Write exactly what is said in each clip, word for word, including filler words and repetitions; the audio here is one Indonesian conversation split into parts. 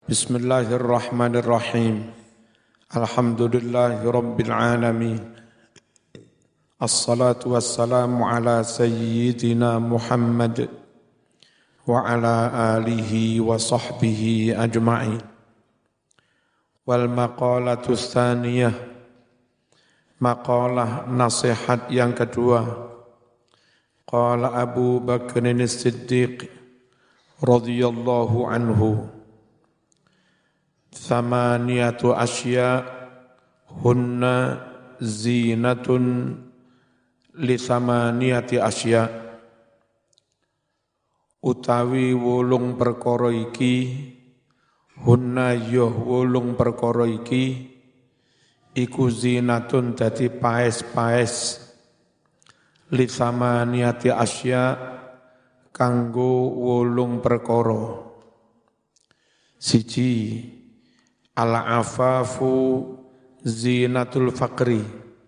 Bismillahirrahmanirrahim. Alhamdulillahi rabbil alamin. Assalatu wassalamu ala sayyidina Muhammad wa ala alihi wa sahbihi ajma'in. Wal maqalatu tsaniyah, maqalah nasihat yang kedua. Qala Abu Bakrin As-Siddiq radhiyallahu anhu, Thamaniyatu asya hunna zinatun li thamaniyati asya. Utawi wolung perkara iki, hunna yoh wolung perkara iki, iku zinatun dadi paes-paes, li thamaniyati asya kanggo wolung perkara. Siji, al-afafu zinatul faqri,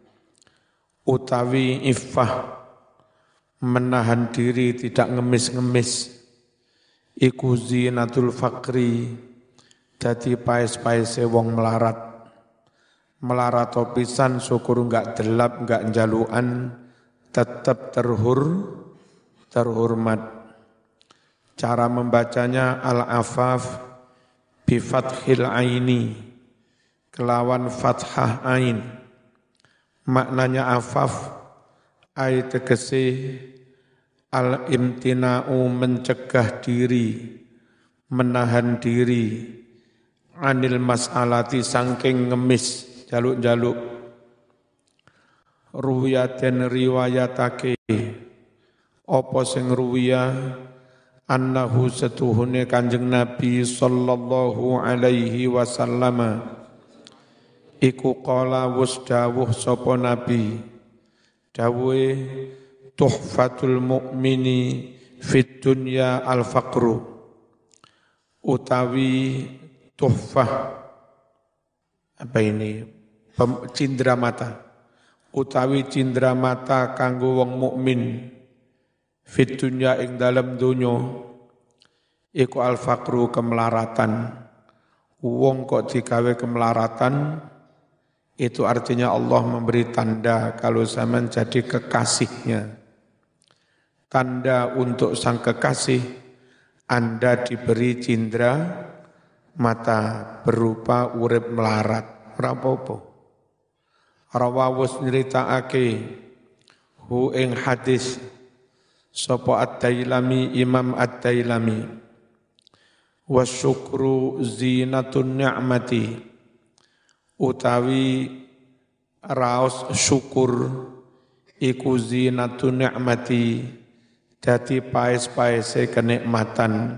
utawi iffah, menahan diri tidak ngemis-ngemis, iku zinatul faqri, dadi paes-paese wong melarat. Melarat pisan syukur enggak delap, enggak njalukan, tetap terhur, terhormat. Cara membacanya al-afaf bi fathil aini, kelawan fathah ain. Maknanya afaf ay tegese al-imtina'u, mencegah diri, menahan diri, anil mas'alati, sangking ngemis, jaluk-jaluk. Ruwiyaten riwayatake, apa sing ruwiyah, annahu setuhune Kanjeng Nabi sallallahu alaihi wasallam iku qala wus dawuh sapa Nabi, dawuhe tuhfatul mukmini fid dunya al faqru, utawi tuhfah apa ini cindera mata, utawi cindera mata kanggo wong mukmin fit dunya ing dalem donya iku al faqru, kemelaratan. Wong kok digawe kemelaratan, itu artinya Allah memberi tanda kalau zaman jadi kekasihnya. Tanda untuk sang kekasih, Anda diberi cindera mata berupa urip melarat. Ora apa-apa. Rawawus nyritakake hu ing hadis sapa Ad-Dailami, Imam Ad-Dailami, wasyukru zinatun ni'mati, utawi raos syukur iku zinatun ni'mati, dadi paes-paese kenikmatan.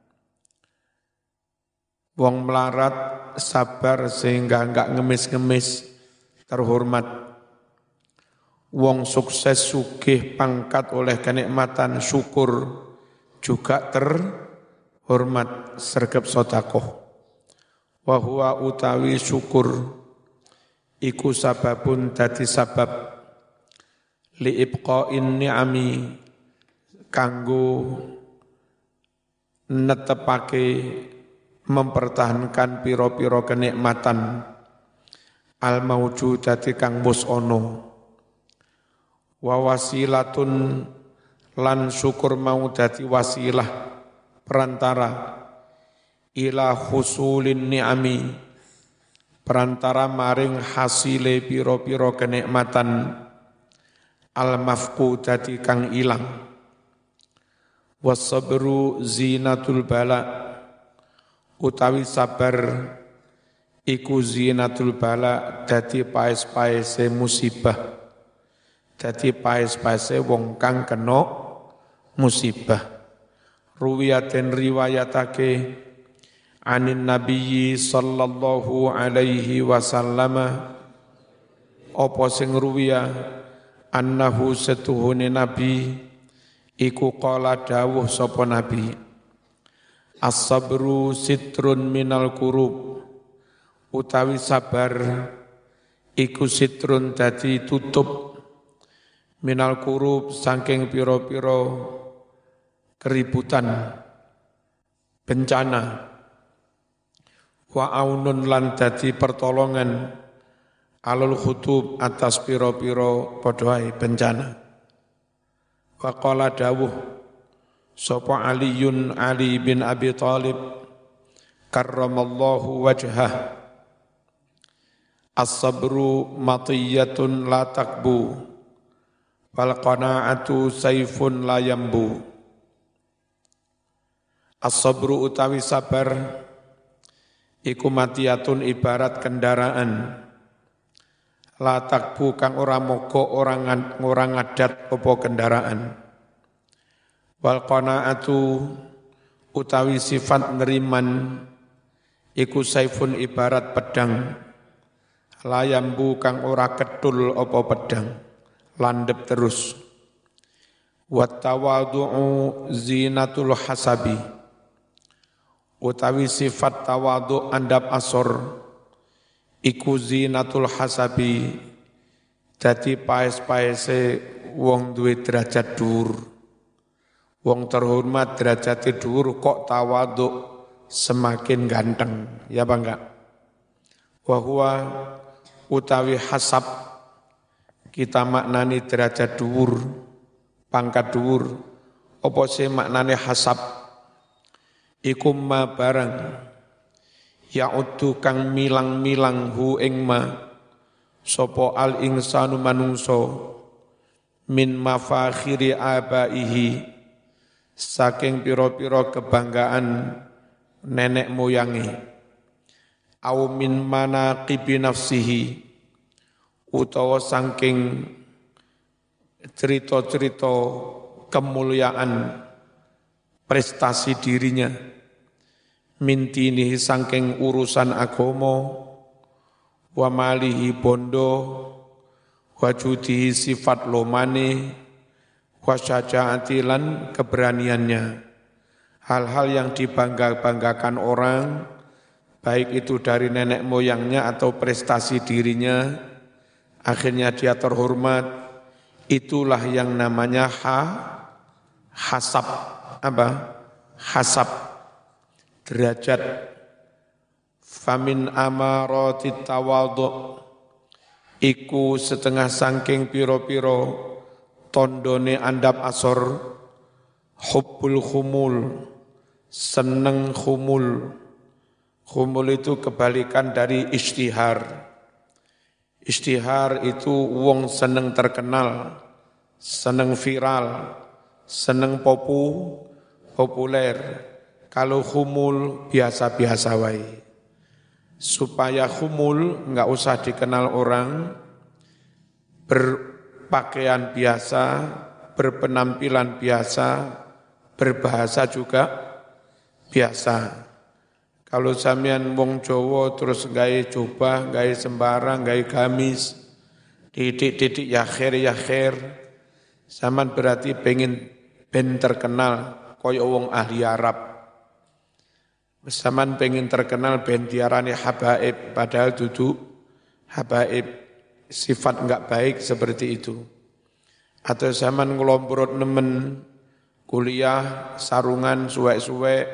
Wong melarat sabar sehingga enggak ngemis-ngemis, terhormat. Wong sukses sugih pangkat oleh kenikmatan syukur juga terhormat, sregep sedekah. Wa huwa utawi syukur iku sababun dadi sabab li ibqa'in ni'ami, kanggo netepake, mempertahankan piro-piro kenikmatan al maujudati kang mus ono. Wa wasilatun, lan syukur mau dadi wasilah, perantara, ila husulin ni'ami, perantara maring hasile piro-piro kenikmatan, al mafqudati kang ilang. Wasabru zinatul bala, utawi sabar iku zinatul bala, dadi paes-paese musibah, dadi paes-paese wong kang kena musibah. Ruwiyaten riwayatake anin nabiyyi sallallahu alaihi wasallam, apa sing ruwiyah, annahu setuhune nabi iku qala dawuh sapa nabi, as-sabru sitrun minal kurub, utawi sabar iku sitrun dadi tutup, minal kurub saking piro-piro keributan, bencana. wa aunun lan dadi pertolongan alul khutub atas piro-piro padha bencana. Wa qala dawuh sapa Aliun Ali bin Abi Thalib karramallahu wajhah as-sabru matiyatun la takbu wal qanaatu saifun la yambu. As-sabru utawi sabar iku matiyatun ibarat kendaraan la takbu kang ora mogok orang orang ngadat apa kendaraan. Wal qanaatu utawi sifat neriman iku saifun ibarat pedang la yambu kang ora ketul apa pedang landep terus. Wat tawadhu'u zinatul hasabi utawi sifat tawadhu andap asor iku zinatul hasabi dadi paes-paese wong duwe derajat dhuwur. Wong terhormat derajate dhuwur kok tawadhu semakin ganteng, ya apa enggak? Wa huwa utawi hasab kita maknani derajat dhuwur, pangkat dhuwur. Apa sih maknane hasab? Iku ma barang ya'uddu kang milang-milang hu ing ma sapa al insanu manungso min mafakhiri abaihi saking pira-pira kebanggaan nenek moyangi au min manaqibi nafsihi utawa saking cerita-cerita kemuliaan prestasi dirinya mintini saking urusan agama wa malihi bondo wa judihi sifat lomane wa syaja'ati lan keberaniannya. Hal-hal yang dibangga-banggakan orang baik itu dari nenek moyangnya atau prestasi dirinya akhirnya dia terhormat, itulah yang namanya ha hasab. Apa? Hasab derajat. Famin amarati tawadhu iku setengah sangking piro-piro tondone andap asor hubbul khumul seneng khumul. Khumul itu kebalikan dari ishtihar. Ishtihar itu wong seneng terkenal, seneng viral, seneng popu, populer. Kalau khumul biasa-biasa wae. Supaya khumul enggak usah dikenal orang, berpakaian biasa, berpenampilan biasa, berbahasa juga biasa. Kalau sampean wong Jawa terus gawe jubah, gawe sembarang, gawe gamis, titik-titik ya khair ya khair, sampean berarti pengen ben terkenal kaya wong ahli Arab. Sampean pengen terkenal ben diarani habaib, padahal duduk habaib, sifat enggak baik seperti itu. Atau sampean ngelomprot nemen kuliah sarungan suwek-suwek,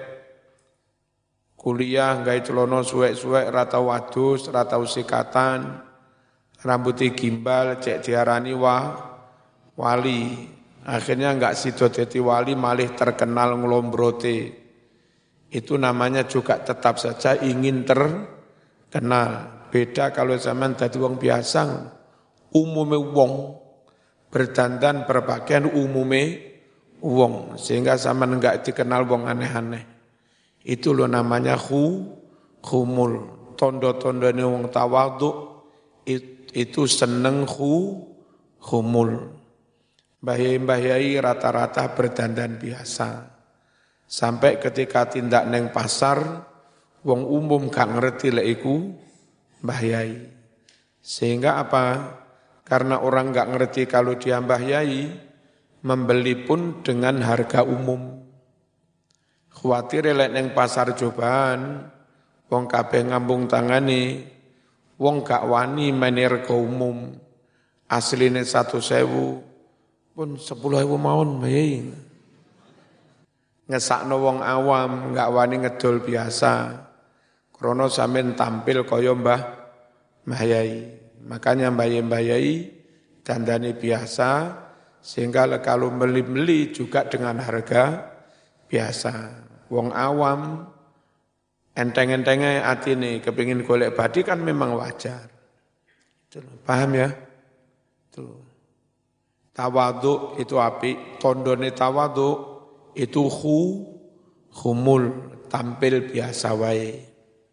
kuliah gawe celana suwek-suwek, ra tau wadus, ra tau sikatan, rambutnya gimbal, cek diarani wah wali. Akhirnya enggak sido dadi wali, malih terkenal ngelombrote. Itu namanya juga tetap saja ingin terkenal. Beda kalau zaman dadi wong biasa, umume wong berdandan berpakaian umume wong, sehingga zaman enggak dikenal wong aneh-aneh. Itu loh namanya khu, khumul. Tondo-tondone wong tawadhu itu seneng khu, khumul. Mbah Yai rata-rata berdandan biasa. Sampai ketika tindak neng pasar, wong umum gak ngerti lek iku Mbah Yai. Sehingga apa? Karena orang gak ngerti kalau dia Mbah Yai, membeli pun dengan harga umum. Khawatir lek neng pasar cobaan, wong kabeh ngambung tangane, wong gak wani main rega umum. Asline satu sewu, pun sepuluh ewu mawon Mbah Yai. Ngesakno wong awam, gak wani ngedol biasa. krono sampean tampil kaya Mbah Mbah Yai. Makanya Mbah Yai dandani biasa, sehingga kalau beli-beli juga dengan harga biasa. Wong awam enteng-entengnya atine kepingin golek badi kan memang wajar. Paham ya? Tuh. Tawadhu itu api, tondone tawadhu itu khu khumul, tampil biasa wae.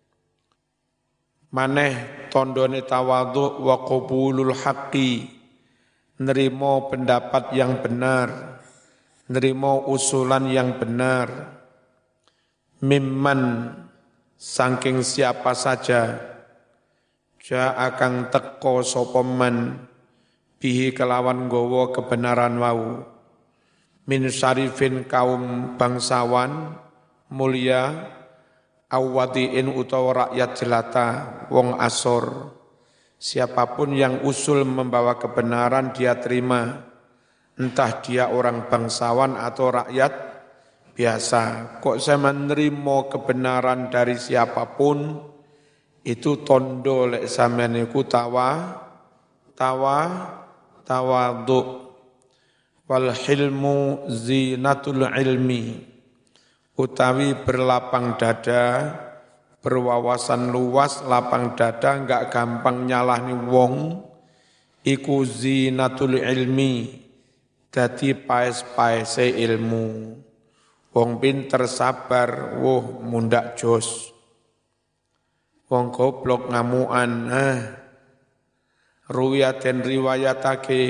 Maneh tondone tawadhu wa qabulul haqqi, nerimo pendapat yang benar, nerimo usulan yang benar. Mimman saking siapa saja ja akan teko sapa man bihi kelawan gowo kebenaran wau min syarifin kaum bangsawan mulia awadiin utawa rakyat jelata wong asor, siapapun yang usul membawa kebenaran dia terima, entah dia orang bangsawan atau rakyat biasa. Kok saya menerima kebenaran dari siapapun, itu tondo lek sampeyan iku tawa tawa tawadhu. Wal hilmu zinatul ilmi, utawi berlapang dada, berwawasan luas, lapang dada, enggak gampang nyalahni wong, iku zinatul ilmi, dadi paes-paese ilmu. Wong pinter sabar, wuh mundak jos. Wong goblok ngamuan, ah. Ruwiyaten riwayatake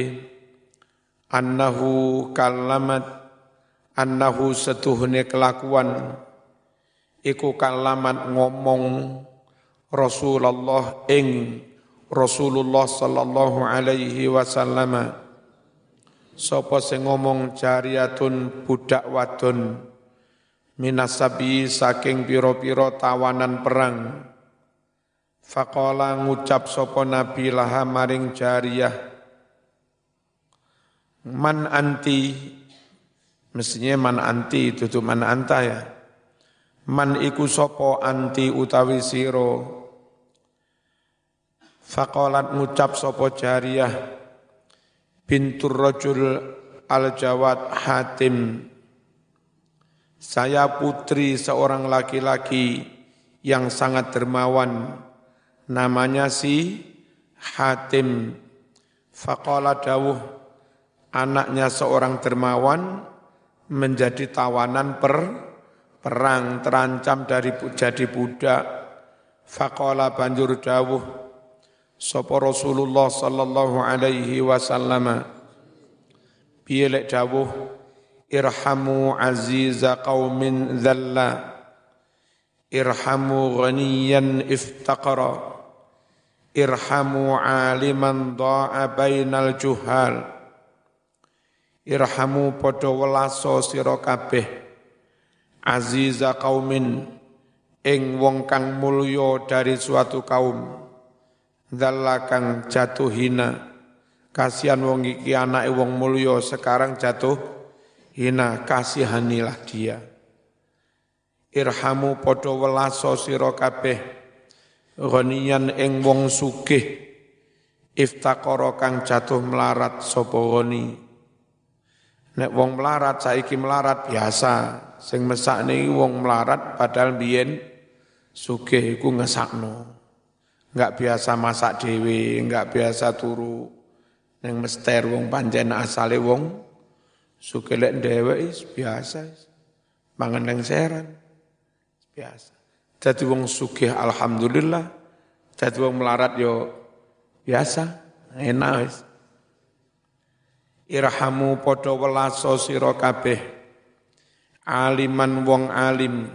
annahu kalamat, annahu setuhune kelakuan iku kalamat ngomong Rasulullah ing Rasulullah sallallahu alaihi wasallam. Sapa sing ngomong jariyatun budak wadon minasabi saking pira-pira tawanan perang. Faqala ngucap sapa nabi laha maring jariyah, man anti, mestinya man anti dudu man anta ya. Man iku sapa anti utawi sira. Faqalat ngucap sapa jariyah bintur rajul al-Jawad Hatim, saya putri seorang laki-laki yang sangat dermawan, namanya si Hatim. Faqala dawuh, anaknya seorang dermawan menjadi tawanan per perang, terancam dari jadi budak. Faqala banjur dawuh sapa Rasulullah sallallahu alaihi wasallam, piye lek dawuh irhamu aziza qaumin dhalla, irhamu ghaniyan iftaqara, irhamu aliman dha'a bainal juhal. Irhamu padha welaso sira kabeh aziza qaumin ing wong kang mulya dari suatu kaum, dhalla kang jatuh hina. Kasihan wong iki anake wong mulya sekarang jatuh hina, kasihanilah dia. Irhamu padha welaso sira kabeh ghaniyan ing wong sugih, iftaqara kang jatuh melarat sapa ghani. Nek wong melarat saiki melarat biasa, sing mesakne wong melarat padahal biyen sugih iku ngesakno. Enggak biasa masak dhewe, enggak biasa turu ning mester wong pancen asale wong sugih lek dhewek biasa. Mangan ning seran biasa. Dadi wong sugih alhamdulillah, dadi wong melarat yo biasa, enak wis. Irhamu padha welaso sira kabeh aliman wong alim,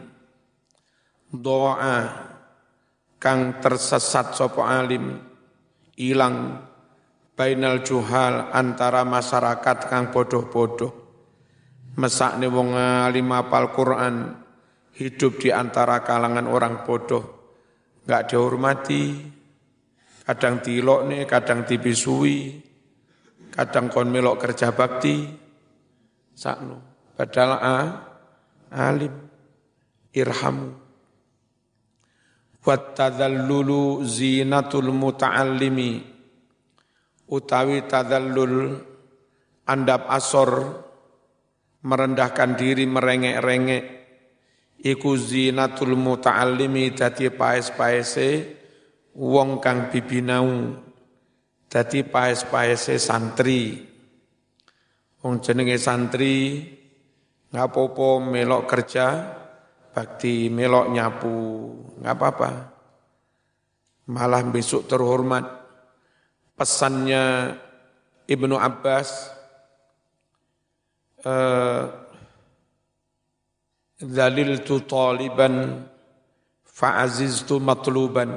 doa kang tersesat sapa alim, ilang bainal juhal antara masyarakat kang bodoh-bodoh. Mesakne wong alim apal Quran hidup di antara kalangan orang bodoh, enggak dihormati, kadang dilokne, kadang dibisui, kadang kon melok kerja bakti, sakno. Padahal a, alim, irhamu. Wat tadallulu zinatul muta'allimi, utawi tadallul andap asor, merendahkan diri, merengek-rengek, iku zinatul muta'allimi, dadi paes-paese wong kang bibinau, dadi paes-paese santri. Wong jenenge santri ngapopo melok kerja bakti, melok nyapu, nggak apa-apa. Malah besok terhormat. Pesannya Ibnu Abbas, dzaliltu taliban fa'aziztu matluban.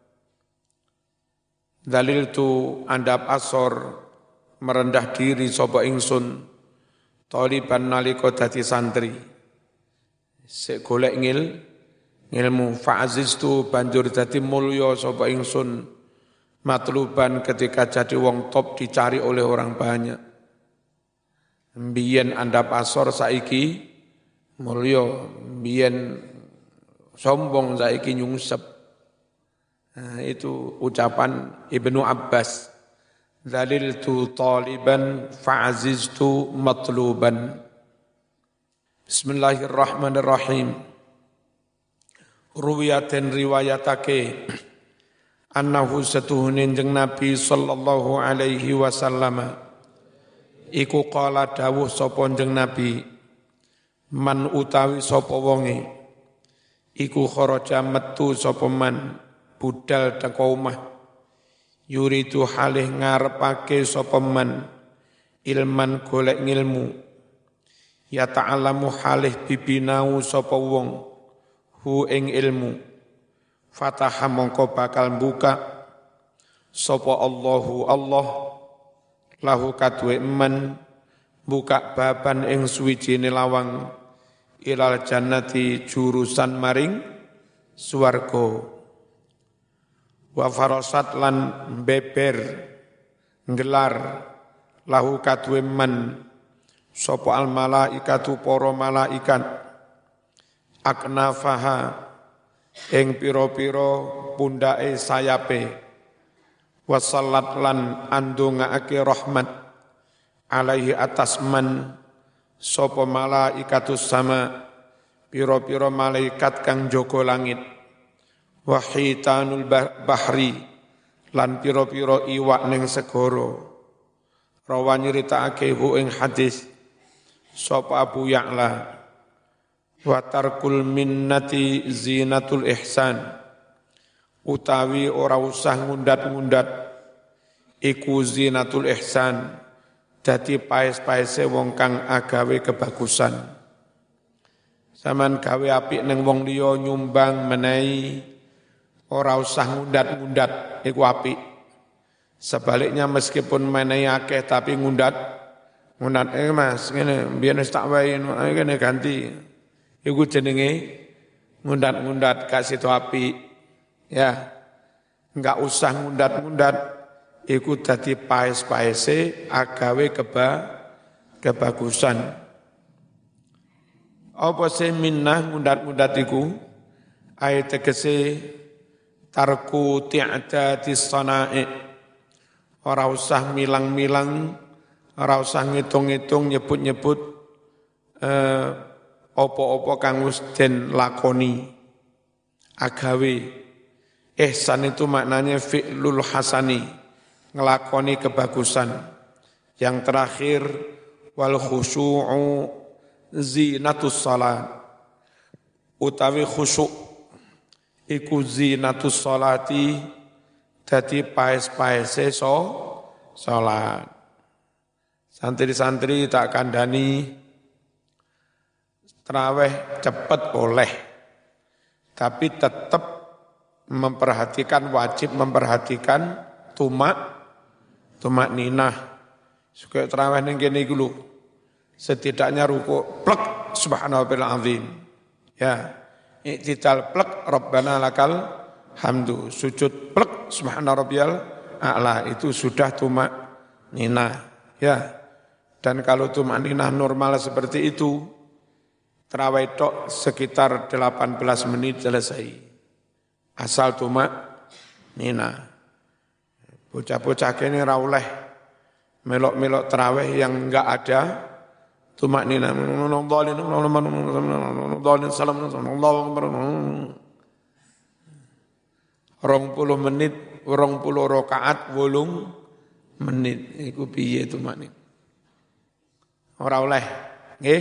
Dzaliltu andap asor, merendah diri sapa ingsun, taliban nalika dadi santri. Sik golek ngil ngilmu, fa'aziztu banjur dadi mulya sapa ingsun, matluban ketika jadi wong top dicari oleh orang banyak. Mbiyen andap asor saiki mulya, mbiyen sombong saiki nyungsep. Nah, itu ucapan Ibnu Abbas. Dzaliltu taliban fa'aziztu matluban. Bismillahirrahmanirrahim. Ruwiyatin riwayatake annahu satuhunin jeng Nabi sallallahu alaihi wasallam iku qala dawuh sapa jeng Nabi, man utawi sapa wonge iku kharaja metu sapa man budal teka omah, yuridu halih ngarepake sapa man ilman golek ngilmu, ya ta'alamu halih bibinau sapa wong hu ing ilmu, fataha mongko bakal buka sapa Allahu Allah lahu kadwe man buka baban ing suwijine lawang ilal jannati jurusan maring swarga, wa farasat lan beber nggelar lahu kadwe man sapa al malaikatu para malaikat aknafaha ing pira-pira pundake sayape, wasallat lan andungaake rahmat alaihi atas man sapa malaikatus sama pira-pira malaikat kang jaga langit, wahitanul bahri lan pira-pira iwak ning segara. Rawan nyritakake hu ing hadis sapa Abu Ya'la, wa tarkul minnati zinatul ihsan, utawi ora usah ngundat-ngundat iku zinatul ihsan, dadi paes-paese wong kang agawe kebagusan. Saman gawe apik ning wong liya nyumbang menehi, ora usah ngundat-ngundat iku apik. Sebaliknya meskipun menehi akeh tapi ngundat ngundat eh Mas ngene biyen wis tak wae ngene ganti. Iku jenenge ngundat-ngundat kasih to apik. Ya. Enggak usah ngundat-ngundat, iku dadi paes-paese agawe keba kebagusan. Apa sih minnah ngundat-ngundat iku? Ayat tegese tarku ti'adatis sana'i. Ora usah milang-milang, ora usah ngitung-ngitung, nyebut-nyebut eh, opo-opo kang wis den lakoni agawe. Ihsan itu maknanya fi'lul hasani, ngelakoni kebagusan. Yang terakhir wal khusyu'u zinatus salat, utawi khusyuk iku zinatus salati, dadi paes-paese so salat. Santri-santri tak kandhani tarawih cepet boleh, tapi tetap memperhatikan, wajib memperhatikan tumak tumak ninah. Suka tarawih ning kene iku lho, setidaknya ruku plek subhanallahil azim. Ya, i'tidal plek rabbana lakal hamdu, sujud plek subhanarabbiyal a'la, itu sudah tumak ninah. Ya. Dan kalau tumak ninah normal seperti itu, tarawih tok sekitar delapan belas menit selesai. asal tumak nina. Bocah-bocah kene ra oleh melok-melok tarawih yang enggak ada tumak nina. Rong puluh menit, rong puluh rakaat, wolung menit. Iku piye tumak nina? Ora oleh, nggih.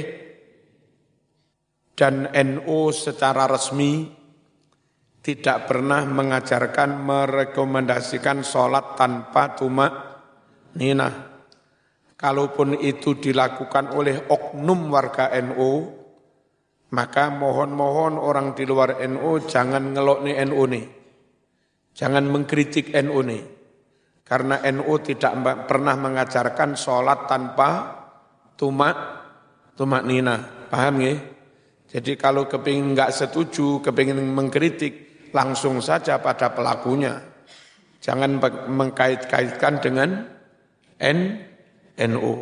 Dan N U secara resmi tidak pernah mengajarkan, merekomendasikan sholat tanpa tumak ninah. Kalaupun itu dilakukan oleh oknum warga N U, maka mohon-mohon orang di luar N U jangan ngelok nih N U nih. Jangan mengkritik N U nih. Karena N U tidak pernah mengajarkan sholat tanpa tumak, tumak ninah. Paham ya? Jadi kalau kepingin enggak setuju, kepingin mengkritik, langsung saja pada pelakunya. Jangan mengkait-kaitkan dengan N, NU.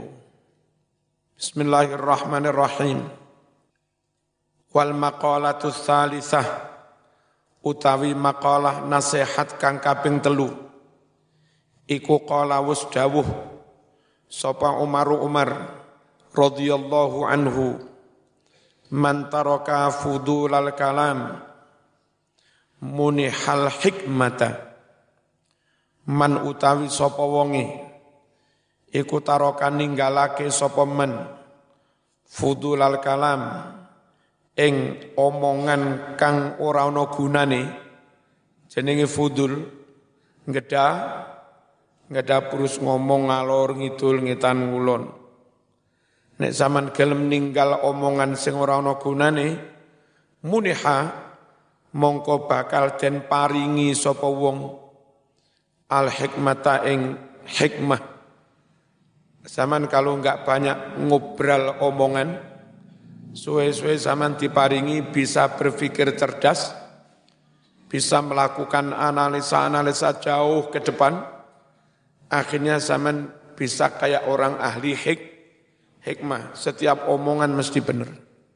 Bismillahirrahmanirrahim. Wal maqalatus salisah, utawi maqalah nasihat kang kaping telu. Iku qala wus dawuh sapa Umar Umar radhiyallahu anhu, man taraka fudulal kalam munihal hikmata. Man utawi sapa wonge iku taraka ninggalake sapa man fudulal kalam ing omongan kang ora ana gunane. Jenenge fudul, ngedah ngedah terus ngomong ngalor ngidul ngetan ngulon. Nek zaman gelem ninggal omongan sing ora ana gunane, muniha mongko bakal den paringi sapa wong al hikmata ing hikmah. Zaman kalau enggak banyak ngobrol omongan, suwe-suwe zaman diparingi bisa berpikir cerdas, bisa melakukan analisa-analisa jauh ke depan, akhirnya zaman bisa kayak orang ahli hik, hikmah, setiap omongan mesti benar.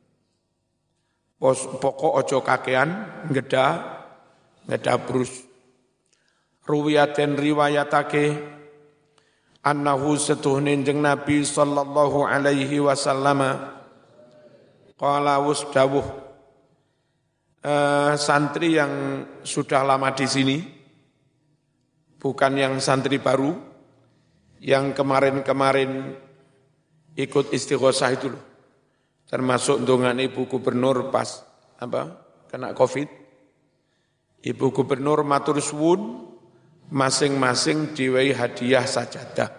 Pokok ojo kakean, ngeda, ngeda brus. Ruwiyaten riwayatake, annahu setuhne jeng Nabi sallallahu alaihi wasallam, qala wus dawuh, uh, santri yang sudah lama di sini, bukan yang santri baru, yang kemarin-kemarin ikut istighosah itu loh. Termasuk dongan Ibu Gubernur pas apa kena Covid. Ibu Gubernur matur suwun masing-masing diwehi hadiah sajadah.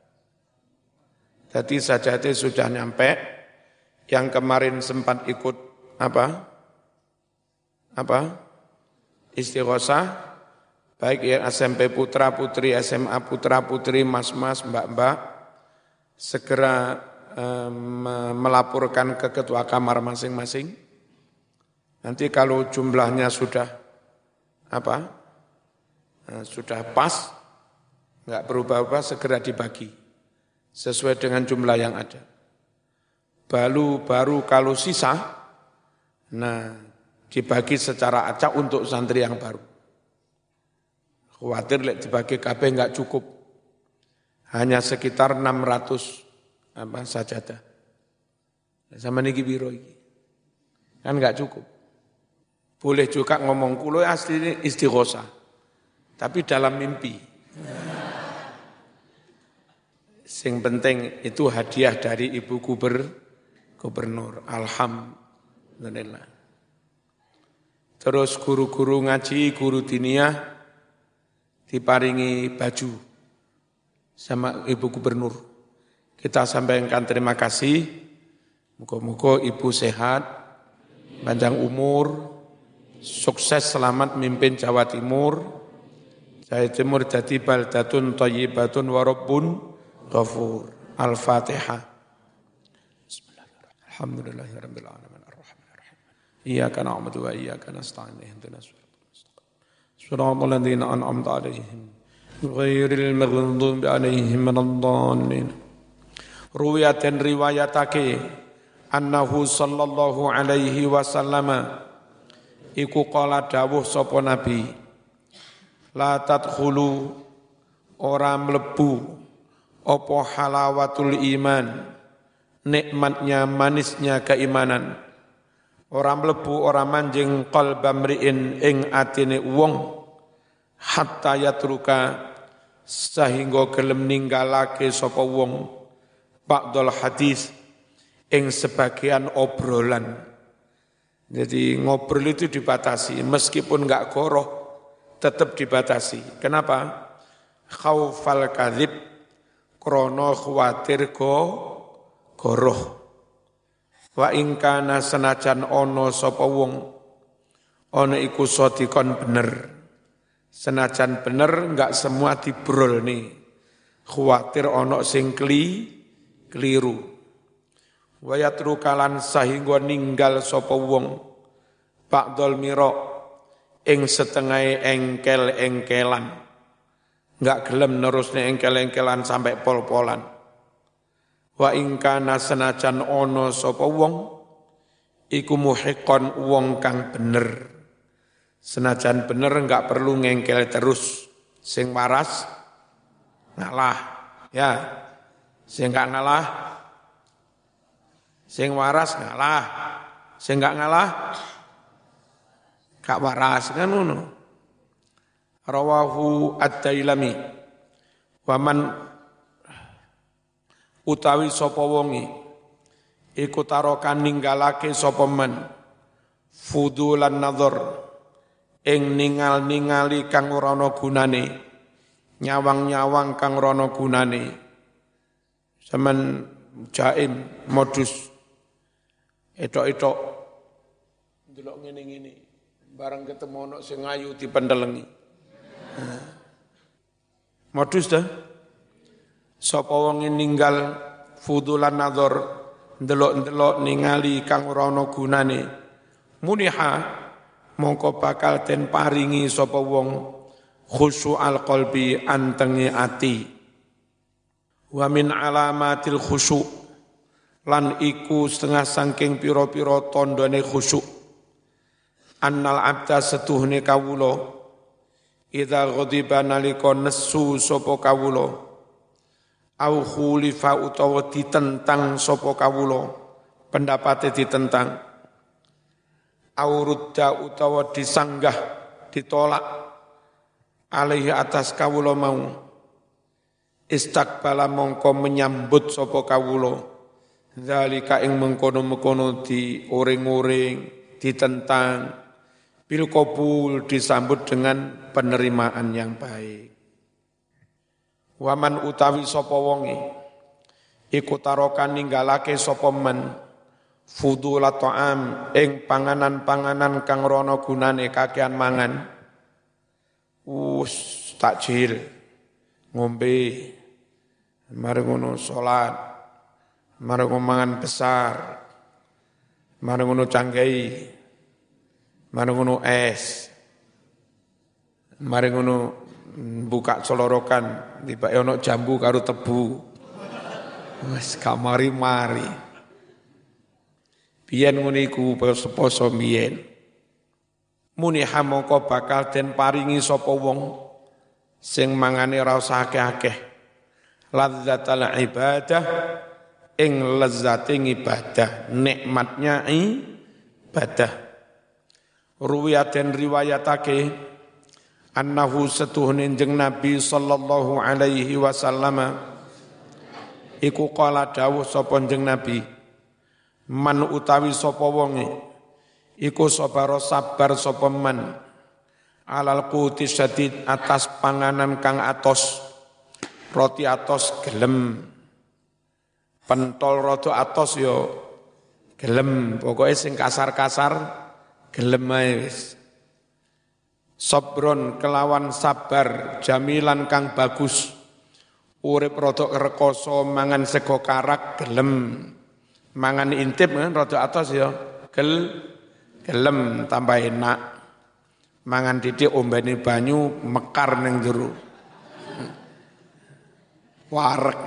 Jadi sajadah sudah nyampe. Yang kemarin sempat ikut apa? Apa? Istighosah, baik ya S M P Putra Putri, S M A Putra Putri, Mas-mas, Mbak-mbak, segera melaporkan ke ketua kamar masing-masing. Nanti kalau jumlahnya sudah apa, sudah pas, nggak berubah-ubah, segera dibagi sesuai dengan jumlah yang ada. Baru baru kalau sisa, nah dibagi secara acak untuk santri yang baru. Khawatir lek dibagi K B nggak cukup, hanya sekitar enam ratus apa sajadah. Sama niki biro iki. Kan enggak cukup. Boleh juga ngomong kulo asli istighosah. Tapi dalam mimpi. Sing penting itu hadiah dari Ibu Guber, Gubernur. Alhamdulillah. Terus guru-guru ngaji, guru diniyah diparingi baju sama Ibu Gubernur. Kita sampaikan terima kasih, moga-moga Ibu sehat, panjang umur, sukses selamat mimpin Jawa Timur. Jawa Timur jadi baldatun thayyibatun wa rabbun ghafur. Al-Fatihah. Bismillahirrahmanirrahim. Alhamdulillahirabbil alamin arrahmanir rahim. Iyyaka na'budu wa iyyaka nasta'in ihdinas siratal mustaqim. Shiratal ladzina an'amta 'alaihim ghairil maghdubi 'alaihim waladdallin. Ruwiyat dan riwayatake annahu sallallahu alaihi wasallam iku qala dawuh sapa nabi la tadkhulu ora mlebu apa halawatul iman nikmatnya manisnya keimanan ora mlebu ora manjing qalba mriin ing atine wong hatta yatruka sehingga gelem ninggalake sapa wong ba'dal hadis ing sebagian obrolan. Jadi ngobrol itu dibatasi meskipun enggak goroh tetap dibatasi. Kenapa? Khaufal kadzib krana khawatir go goroh. Wa ing kana senajan ana sapa wong ana iku sadikon bener. Senajan bener enggak semua dibrol nih. Khawatir ana sing kli keliru. Wa yatrukalan sahingga ninggal sapa wong ba'dal mira ing setengah engkel-engkelan. Enggak gelem nerusne engkel-engkelan sampai pol-polan. Wa ing kana senajan ana sapa wong iku muhiqqan wong kang bener. Senajan bener enggak perlu ngengkel terus. Sing waras ngalah. Ya. Sing enggak ngalah sing waras ngalah. Sing enggak ngalah gak waras kan ngono. Rawahu ad-Dailami wa man utawi sapa wonge iku tarokan ninggalake sapa man fudulan nazar ing ningal-ningali kang ora ana gunane nyawang-nyawang kang ora ana gunane sampean jaim modus etok-etok ndelok ngene-ngene bareng ketemu ana sing ayu dipendelengi modus dah sapa wong ninggal fudulan nazar ndelok-ndelok ningali kang ora ana gunane muniha mongko bakal den paringi sapa wong khusyu'al qalbi antenge ati wa min alamatil khusyu' lan iku setengah saking pira-pira tandane khusyuk annal abda setuhne kawula idza ghadiba nalika nesu sapa kawula au khulifa utawa ditentang sapa kawula pendapate ditentang au rudda utawa disanggah ditolak alaihi atas kawula mau istaqbala mongko menyambut sapa kawula zalika ing mengkono-mengkono diuring-uring ditentang bil qabul disambut dengan penerimaan yang baik. Waman utawi sapa wonge iku tarokan ninggalake sapa man fudula ta'am ing panganan-panganan kang rono gunane kakean mangan us takjil ngombe mari ngono salat mari mangan besar mari ngono canggai mari ngono es mari ngono buka celorokan tiba ono jambu karo tebu wis kamari-mari biyen ngono iku poso biyen muniha mongko bakal den paringi sapa wong sing mangane ora usah akeh-akeh lazzatul ibadah ing lezate ibadah nikmatnya ibadah ruwiyaten riwayatake annahu setuhne jeneng Nabi sallallahu alaihi wasallam iku qala dawuh sapa jeneng Nabi man utawi sapa wonge iku sabara sabar sapa man alal quti syadid atas panganan kang atos roti atos gelem pentol rada atos ya gelem pokoke sing kasar-kasar gelem ae wis sabron kelawan sabar jamilan kang bagus urip rada rekoso mangan sego karak gelem mangan intip kan rada atos ya gel gelem tambah enak mangan titik ombane banyu mekar ning jero warek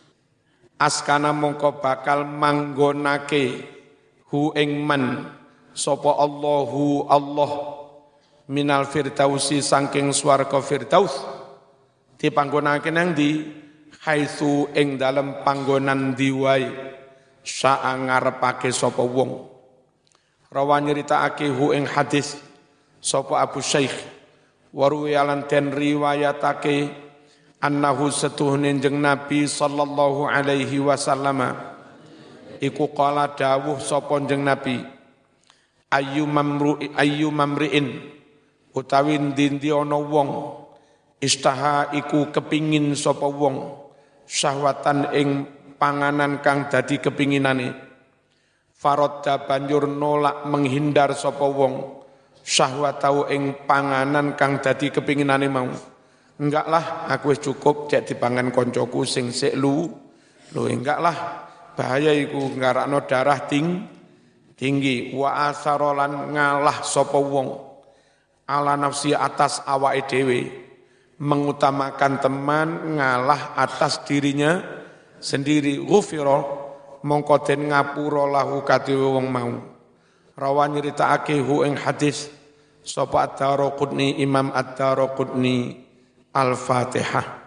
askana mongko bakal manggonake hu ing man sapa Allahu Allah minal firdausi saking swarga firdaus dipanggonake nang ndi haitsu ing dalem panggonan diwai sa'a ngarepake sapa wong rawa nyritakake hu ing hadis sapa Abu Syekh waruyalan den riwayatake annahu setuhne jeneng Nabi sallallahu alaihi wasallam iku qala dawuh sapa jeneng Nabi ayyu mamru ayyu mamriin utawi ndi ana wong istaha iku kepingin sapa wong syahwatan ing panganan kang dadi kepinginane faradda banjur nolak menghindar sapa wong syahwatau ing panganan kang dadi kepinginane mau enggak lah aku wis cukup cek dipangan koncoku sing sik lu lho enggak lah bahaya iku ngarakno darah ting tinggi wa asarolan ngalah sapa wong ala nafsi atas awake dhewe mengutamakan teman ngalah atas dirinya sendiri ghufira mongko den ngapura lahu kadhewe wong mau rawan nyritakake hu ing hadis sapa Ad-Daraqutni Imam Ad-Daraqutni Al-Fatihah.